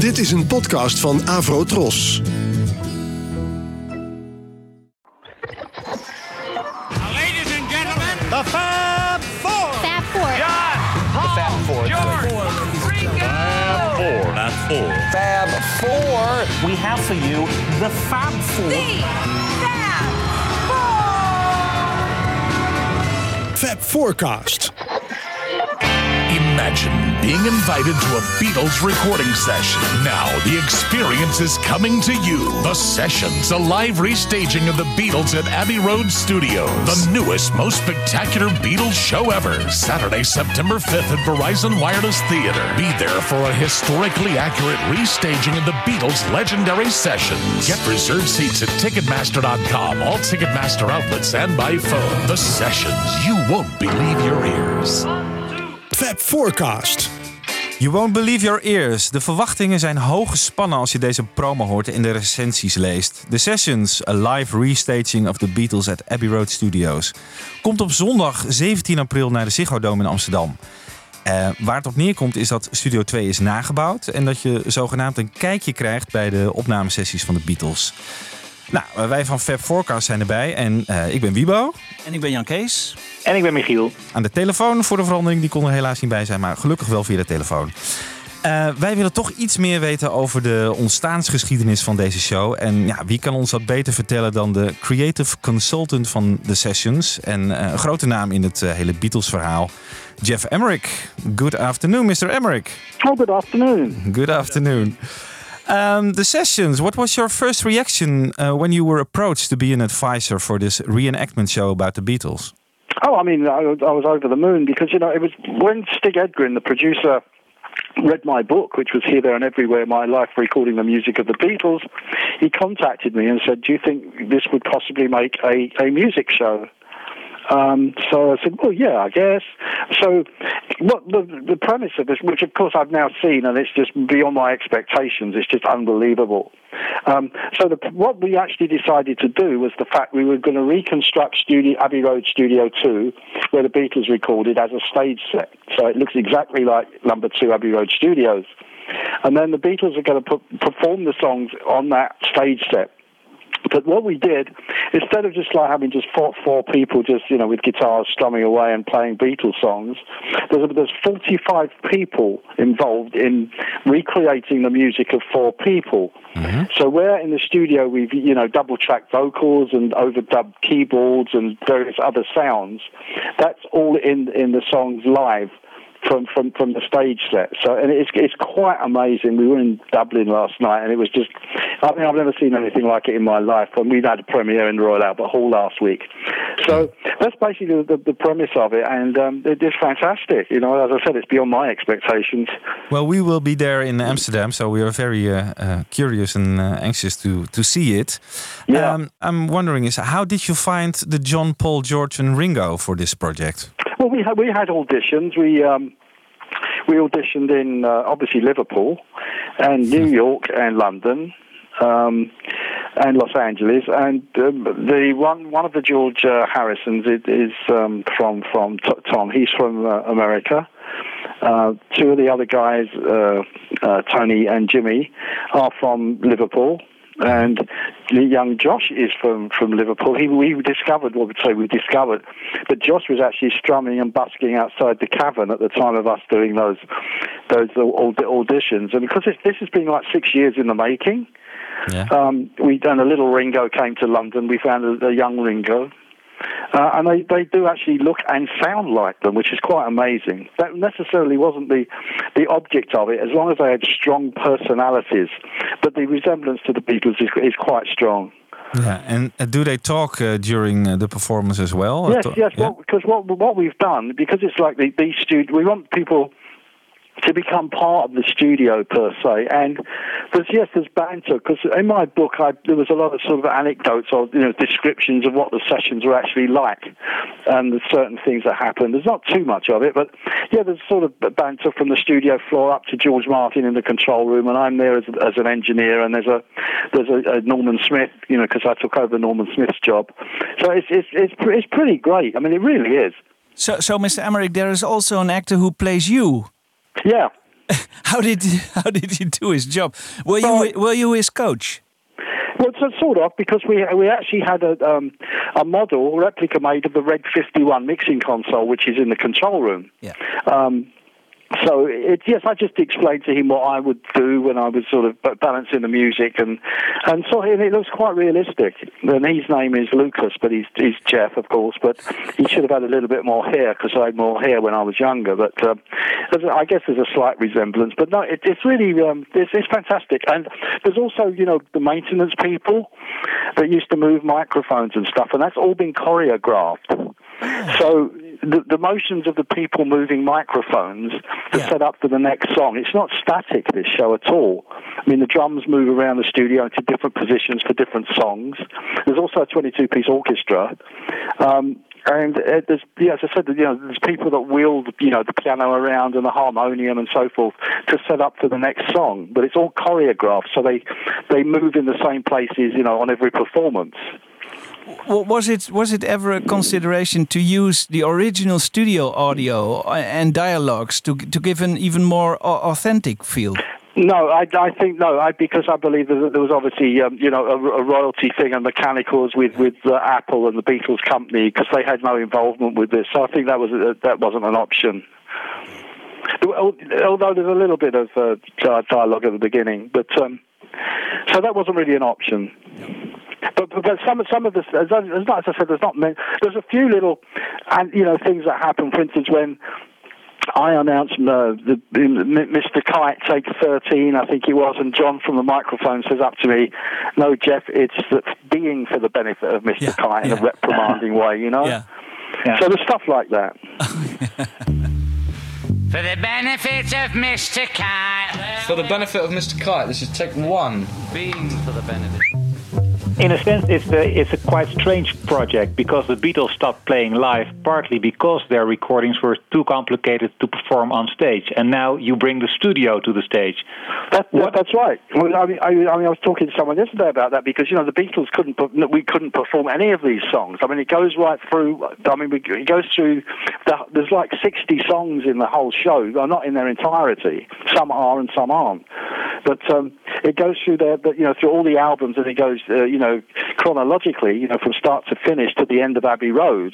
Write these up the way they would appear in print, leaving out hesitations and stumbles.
Dit is een podcast van Avro Tros. Ladies and gentlemen, The Fab Four. Fab Four. John, Paul, The Fab Four. George, Ringo. Fab Four. We have for you the Fab Four. The Fab Four. Fab Forecast. Imagine being invited to a Beatles recording session. Now the experience is coming to you. The Sessions, a live restaging of the Beatles at Abbey Road Studios. The newest, most spectacular Beatles show ever. Saturday, September 5th at Verizon Wireless Theater. Be there for a historically accurate restaging of the Beatles' legendary sessions. Get reserved seats at Ticketmaster.com, all Ticketmaster outlets, and by phone. The Sessions. You won't believe your ears. Fab Forecast. You won't believe your ears. De verwachtingen zijn hoog gespannen als je deze promo hoort en de recensies leest. The Sessions, a live restaging of the Beatles at Abbey Road Studios. Komt op zondag 17 april naar de Ziggo Dome in Amsterdam. Waar het op neerkomt is dat Studio 2 is nagebouwd en dat je zogenaamd een kijkje krijgt bij de opnamesessies van de Beatles. Nou, wij van Fab Forecast zijn erbij en ik ben Wiebo. En ik ben Jan Kees. En ik ben Michiel. Aan de telefoon voor de verandering, die kon er helaas niet bij zijn, maar gelukkig wel via de telefoon. Wij willen toch iets meer weten over de ontstaansgeschiedenis van deze show. En ja, wie kan ons dat beter vertellen dan de creative consultant van The Sessions en een grote naam in het hele Beatles-verhaal, Geoff Emerick. Good afternoon, Mr. Emerick. Oh, good afternoon. Good afternoon. The Sessions, what was your first reaction when you were approached to be an advisor for this reenactment show about the Beatles? Oh, I mean, I was over the moon because, it was when Stig Edgren, the producer, read my book, which was Here, There and Everywhere, My Life Recording the Music of the Beatles, he contacted me and said, do you think this would possibly make a music show? So I said, well, yeah, I guess. So what the premise of this, which of course I've now seen, and it's just beyond my expectations, it's just unbelievable. What we actually decided to do was the fact we were going to reconstruct Abbey Road Studio 2, where the Beatles recorded, as a stage set. So it looks exactly like number 2 Abbey Road Studios. And then the Beatles are going to perform the songs on that stage set. But what we did, instead of just like having just four people just, with guitars strumming away and playing Beatles songs, there's 45 people involved in recreating the music of 4 people. Mm-hmm. So where in the studio we've, double-tracked vocals and overdubbed keyboards and various other sounds, that's all in the songs live. From the stage set. So, and it's quite amazing. We were in Dublin last night, and it was just, I've never seen anything like it in my life. And we had a premiere in the Royal Albert Hall last week. So that's basically the premise of it, and it's fantastic. As I said, it's beyond my expectations. Well, we will be there in Amsterdam, so we are very curious and anxious to see it. Yeah. I'm wondering, how did you find the John, Paul, George and Ringo for this project? Well, we had auditions. We auditioned in obviously Liverpool and New York and London and Los Angeles. And one of the George Harrisons is from Tom. He's from America. 2 of the other guys, Tony and Jimmy, are from Liverpool. And young Josh is from Liverpool. We discovered that Josh was actually strumming and busking outside the Cavern at the time of us doing those auditions. And because this has been like 6 years in the making, we done a little Ringo came to London. We found a young Ringo. And they do actually look and sound like them, which is quite amazing. That necessarily wasn't the object of it, as long as they had strong personalities. But the resemblance to the Beatles is quite strong. Yeah, and do they talk during the performance as well? Yes. Yeah? Well, because what we've done, because it's like these we want people to become part of the studio per se, and there's banter, because in my book there was a lot of sort of anecdotes or descriptions of what the sessions were actually like and the certain things that happened. There's not too much of it, but yeah, there's sort of banter from the studio floor up to George Martin in the control room, and I'm there as an engineer, and there's a Norman Smith, because I took over Norman Smith's job. So it's pretty great. I mean, it really is. So Mr. Emerick, there is also an actor who plays you. Yeah. How did he do his job? Were you his coach? Well, so sort of, because we actually had a model, replica made of the Red 51 mixing console, which is in the control room. Yeah. So, I just explained to him what I would do when I was sort of balancing the music, and so it looks quite realistic. And his name is Lucas, but he's Jeff, of course, but he should have had a little bit more hair, because I had more hair when I was younger, but I guess there's a slight resemblance. But no, it's really, it's fantastic. And there's also, the maintenance people that used to move microphones and stuff, and that's all been choreographed. So the motions of the people moving microphones to set up for the next song, it's not static, this show, at all. I mean, the drums move around the studio into different positions for different songs. There's also a 22-piece orchestra. And there's, as I said, there's people that wield, the piano around and the harmonium and so forth to set up for the next song. But it's all choreographed, so they move in the same places, on every performance. Was it ever a consideration to use the original studio audio and dialogues to give an even more authentic feel? No, I think no. Because I believe that there was obviously a royalty thing and mechanicals with Apple and the Beatles company, because they had no involvement with this. So I think that wasn't an option. Although there's a little bit of dialogue at the beginning, but so that wasn't really an option. But some of this, as I said, there's a few little, things that happen. For instance, when I announced Mr. Kite, take 13, I think he was, and John from the microphone says up to me, "No, Jeff, it's being for the benefit of Mr. Kite in a reprimanding way, Yeah. So there's stuff like that. For the benefit of Mr. Kite. For the benefit of Mr. Kite, this is take 1. Being for the benefit. In a sense, it's a quite strange project, because the Beatles stopped playing live partly because their recordings were too complicated to perform on stage, and now you bring the studio to the stage. That's right. Well, I was talking to someone yesterday about that, because the Beatles couldn't perform any of these songs. I mean, it goes right through. It goes through. There's like 60 songs in the whole show. Well, not in their entirety. Some are and some aren't. But it goes through through all the albums, and it goes, chronologically, from start to finish to the end of Abbey Road.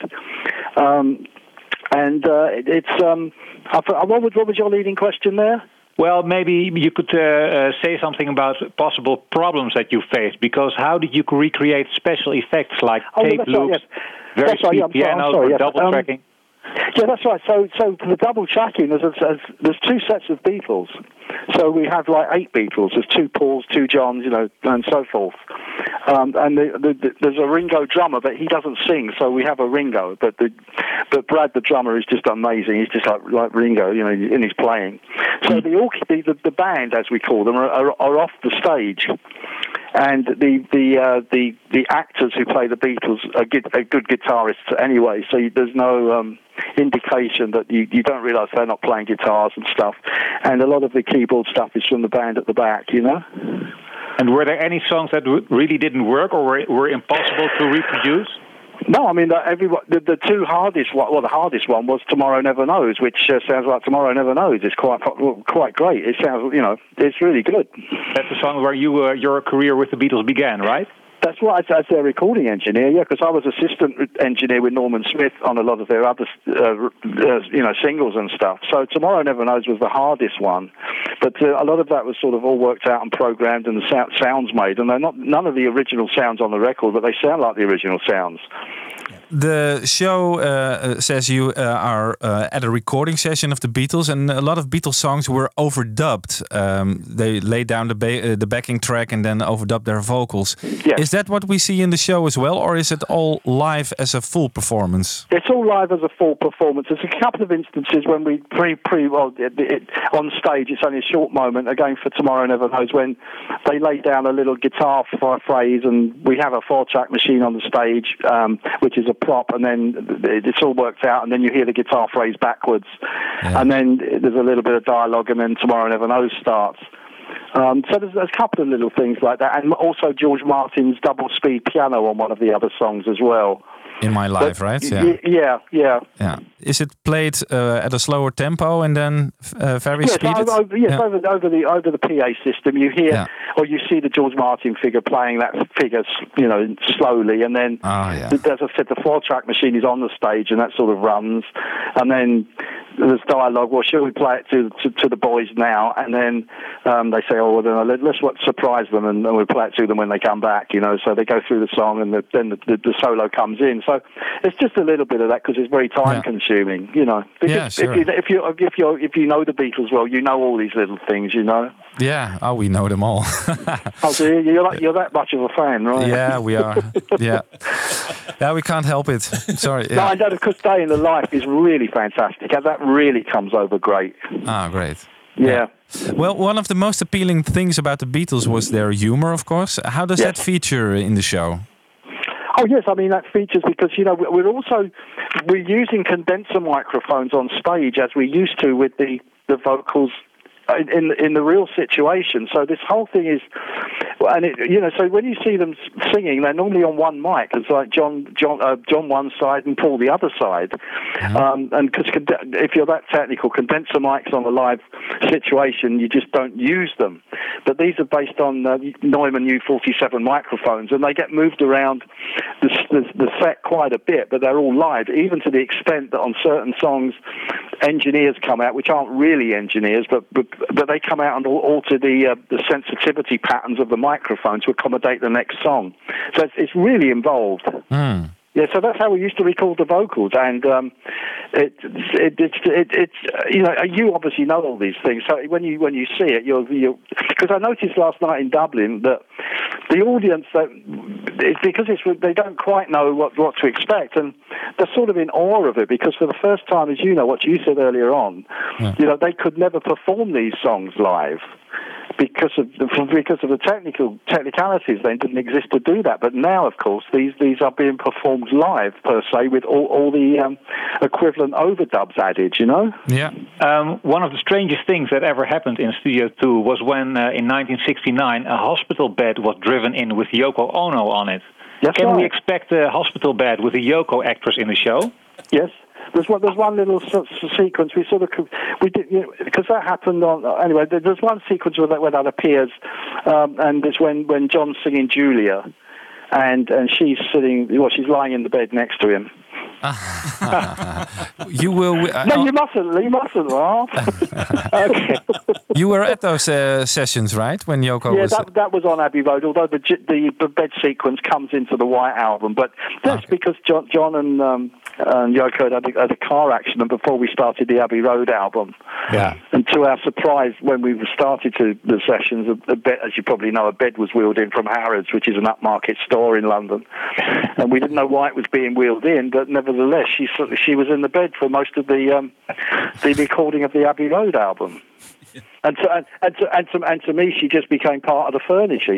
What was your leading question there? Well, maybe you could say something about possible problems that you faced, because how did you recreate special effects like tape loops, very speed pianos, or double tracking? Yeah, that's right. So for the double tracking, there's two sets of Beatles. So we have like 8 Beatles. There's 2 Pauls, 2 Johns, and so forth. And there's a Ringo drummer, but he doesn't sing. So we have a Ringo. But Brad, the drummer, is just amazing. He's just like Ringo, in his playing. So the band, as we call them, are off the stage. And the actors who play the Beatles are good guitarists anyway, so there's no indication that you don't realise they're not playing guitars and stuff. And a lot of the keyboard stuff is from the band at the back, And were there any songs that really didn't work or were impossible to reproduce? No, I mean, the two hardest, the hardest one was Tomorrow Never Knows, which sounds like Tomorrow Never Knows. It's quite great. It sounds, it's really good. That's the song where your career with the Beatles began, right? That's right, as their recording engineer, because I was assistant engineer with Norman Smith on a lot of their other, singles and stuff. So Tomorrow Never Knows was the hardest one, but a lot of that was sort of all worked out and programmed, and the sounds made, and they're none of the original sounds on the record, but they sound like the original sounds. The show says you are at a recording session of the Beatles, and a lot of Beatles songs were overdubbed. They laid down the backing track and then overdubbed their vocals. Yes. Is that what we see in the show as well, or is it all live as a full performance? It's all live as a full performance. There's a couple of instances when we on stage. It's only a short moment. Again, for Tomorrow Never Knows, when they lay down a little guitar phrase, and we have a 4-track machine on the stage, which is a prop, and then it's all worked out, and then you hear the guitar phrase backwards, and then there's a little bit of dialogue, and then Tomorrow Never Knows starts. So there's a couple of little things like that, and also George Martin's double speed piano on one of the other songs as well. In My Life, right? Yeah. Is it played at a slower tempo and then very speeded? Over the PA system, you hear or you see the George Martin figure playing that figure, slowly, and then as I said, the 4-track machine is on the stage and that sort of runs, and then there's dialogue. Well, should we play it to the boys now? And then they say, oh, well, then let's surprise them, and we'll play it to them when they come back. So they go through the song, and then the solo comes in. So it's just a little bit of that because it's very time consuming. Because sure. if you know the Beatles well, you know all these little things. Yeah. Oh, we know them all. Oh, so you're that much of a fan, right? Yeah, we are. Yeah, we can't help it. Sorry. Yeah. No, I know, because Day in the Life is really fantastic, and that really comes over great. Ah, great. Yeah. Well, one of the most appealing things about the Beatles was their humor, of course. How does that feature in the show? Oh yes, I mean that features because we're using condenser microphones on stage as we used to with the vocals in the real situation. So this whole thing is, and so when you see them singing, they're normally on one mic. It's like John one side and Paul the other side. And because if you're that technical, condenser mics on a live situation, you just don't use them. But these are based on Neumann U47 microphones, and they get moved around the set quite a bit. But they're all live, even to the extent that on certain songs, engineers come out, which aren't really engineers, but they come out and alter the sensitivity patterns of the microphone to accommodate the next song. So it's really involved. Yeah, so that's how we used to record the vocals, and you obviously know all these things. So when you see it, you're because I noticed last night in Dublin that the audience they don't quite know what to expect, and they're sort of in awe of it because for the first time, as you know, what you said earlier on, they could never perform these songs live. Because of the technicalities, they didn't exist to do that. But now, of course, these are being performed live per se with all the equivalent overdubs added. Yeah. One of the strangest things that ever happened in Studio 2 was when in 1969 a hospital bed was driven in with Yoko Ono on it. Can we expect a hospital bed with a Yoko actress in the show? Yes. There's one little sequence we did because that happened on anyway. There's one sequence where that appears, and it's when John's singing Julia, and she's sitting. Well, she's lying in the bed next to him. You will. No, you mustn't laugh. Okay. You were at those sessions, right? When Yoko was. Yeah, that was on Abbey Road. Although the bed sequence comes into the White Album, but that's because John and Yoko had a car accident before we started the Abbey Road album. Yeah. And to our surprise, when we started the sessions, a bed, as you probably know, a bed was wheeled in from Harrods, which is an upmarket store in London, and we didn't know why it was being wheeled in, but nevertheless, she was in the bed for most of the recording of the Abbey Road album. And to me, she just became part of the furniture,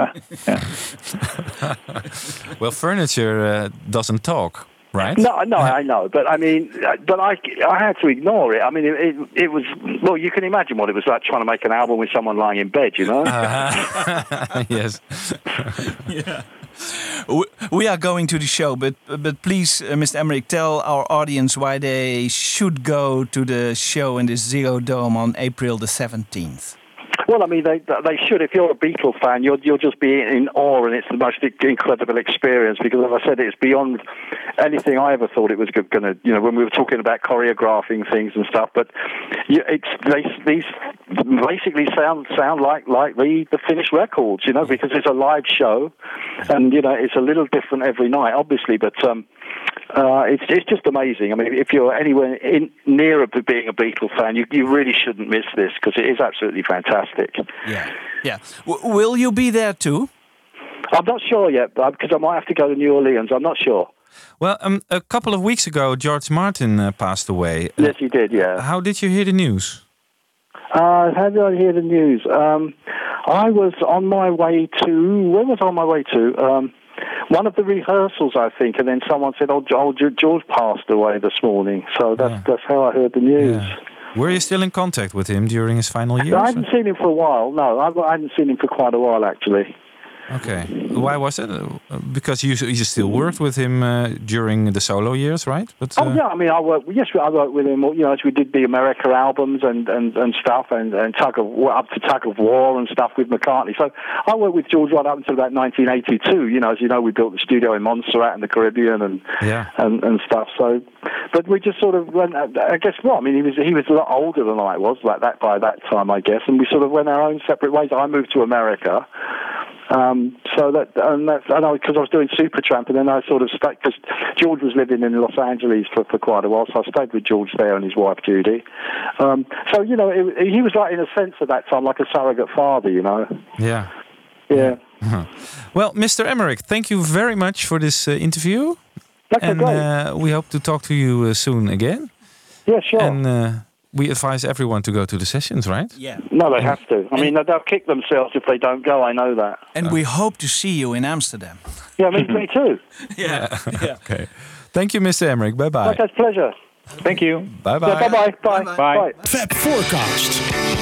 Well, furniture doesn't talk, right? No, I know, but I mean, I had to ignore it. I mean, it was well. You can imagine what it was like trying to make an album with someone lying in bed, Yes. Yeah. We are going to the show, but please, Mr. Emmerich, tell our audience why they should go to the show in the Ziggo Dome on April the 17th. Well, I mean, they should. If you're a Beatles fan, you'll just be in awe, and it's the most incredible experience because, as I said, it's beyond anything I ever thought it was going to. When we were talking about choreographing things and stuff, but these basically sound like the finished records, because it's a live show, and it's a little different every night, obviously, but. It's just amazing. I mean, if you're anywhere near being a Beatles fan, you really shouldn't miss this because it is absolutely fantastic. Yeah. Will you be there too? I'm not sure yet, because I might have to go to New Orleans. I'm not sure. Well, a couple of weeks ago, George Martin passed away. Yes, he did. Yeah. How did you hear the news? How did I hear the news? I was on my way to. Where was I on my way to? One of the rehearsals, I think, and then someone said, "Oh, George passed away this morning." So that's how I heard the news. Yeah. Were you still in contact with him during his final years? I hadn't seen him for a while. No, I hadn't seen him for quite a while, actually. Okay. Why was it? Because you still worked with him during the solo years, right? But, yeah, I mean, I worked with him, as we did the America albums and stuff, and up to Tug of War and stuff with McCartney. So I worked with George right up until about 1982. As you know, we built the studio in Montserrat in the Caribbean and stuff. So, but we just sort of went. I guess what I mean, he was a lot older than I was, like that by that time, I guess, and we sort of went our own separate ways. I moved to America. Because I was doing Supertramp, and then I sort of stayed because George was living in Los Angeles for quite a while, so I stayed with George there and his wife Judy. So he was like, in a sense, at that time, like a surrogate father, Yeah. Yeah. Well, Mr. Emmerich, thank you very much for this interview. Okay, and we hope to talk to you soon again. Yeah, sure. And we advise everyone to go to the sessions, right? Yeah. No, they have to. I mean, they'll kick themselves if they don't go. I know that. And we hope to see you in Amsterdam. Yeah, me too. Yeah. Okay. Thank you, Mr. Emmerich. Bye-bye. Okay, it's a pleasure. Thank you. Bye-bye. Yeah, bye-bye. Bye. Fab Forecast.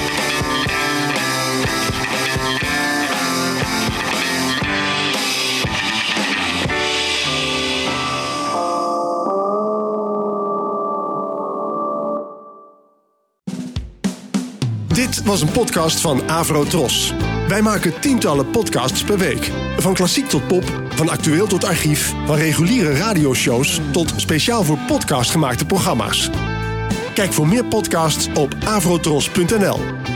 Dit was een podcast van Avro Tros. Wij maken tientallen podcasts per week. Van klassiek tot pop, van actueel tot archief, van reguliere radioshows tot speciaal voor podcast gemaakte programma's. Kijk voor meer podcasts op avrotros.nl.